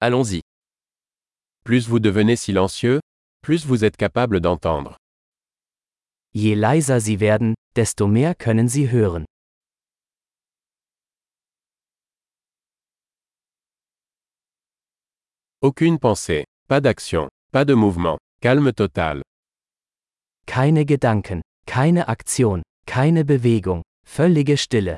Allons-y. Plus vous devenez silencieux, plus vous êtes capable d'entendre. Je leiser Sie werden, desto mehr können Sie hören. Aucune pensée, pas d'action, pas de mouvement, calme total. Keine Gedanken, keine Aktion, keine Bewegung, völlige Stille.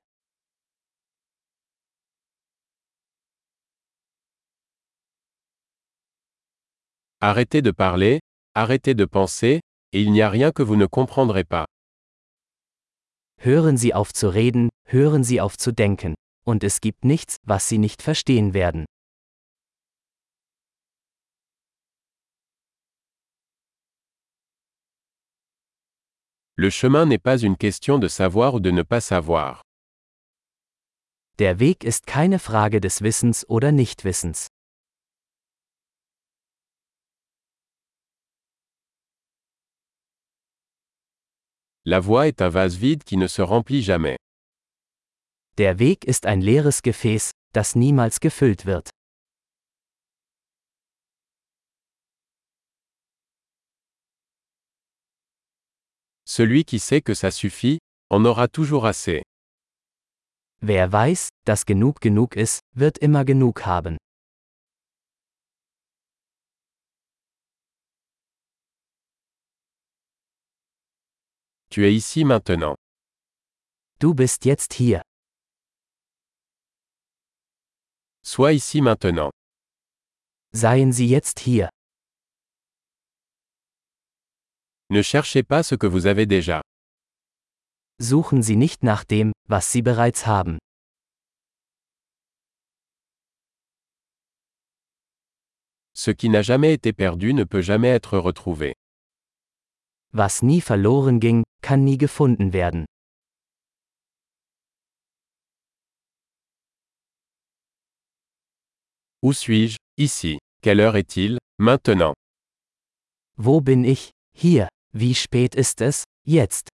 Arrêtez de parler, arrêtez de penser, et il n'y a rien que vous ne comprendrez pas. Hören Sie auf zu reden, hören Sie auf zu denken. Und es gibt nichts, was Sie nicht verstehen werden. Le chemin n'est pas une question de savoir ou de ne pas savoir. Der Weg ist keine Frage des Wissens oder Nichtwissens. La voie est un vase vide qui ne se remplit jamais. Der Weg ist ein leeres Gefäß, das niemals gefüllt wird. Celui qui sait que ça suffit, en aura toujours assez. Wer weiß, dass genug ist, wird immer genug haben. Tu es ici maintenant. Du bist jetzt hier. Sois ici maintenant. Seien Sie jetzt hier. Ne cherchez pas ce que vous avez déjà. Suchen Sie nicht nach dem, was Sie bereits haben. Ce qui n'a jamais été perdu ne peut jamais être retrouvé. Was nie verloren ging, kann nie gefunden werden. Où suis-je? Ici. Quelle heure est-il? Maintenant. Wo bin ich? Hier. Wie spät ist es? Jetzt.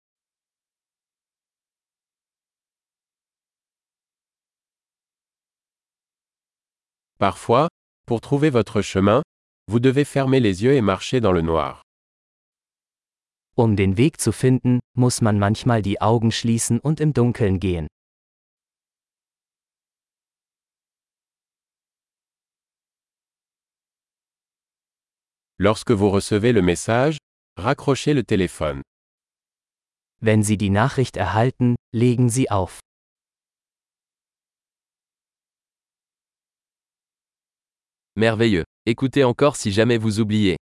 Parfois, pour trouver votre chemin, vous devez fermer les yeux et marcher dans le noir. Um den Weg zu finden, muss man manchmal die Augen schließen und im Dunkeln gehen. Lorsque vous recevez le message, raccrochez le téléphone. Wenn Sie die Nachricht erhalten, legen Sie auf. Merveilleux. Écoutez encore si jamais vous oubliez.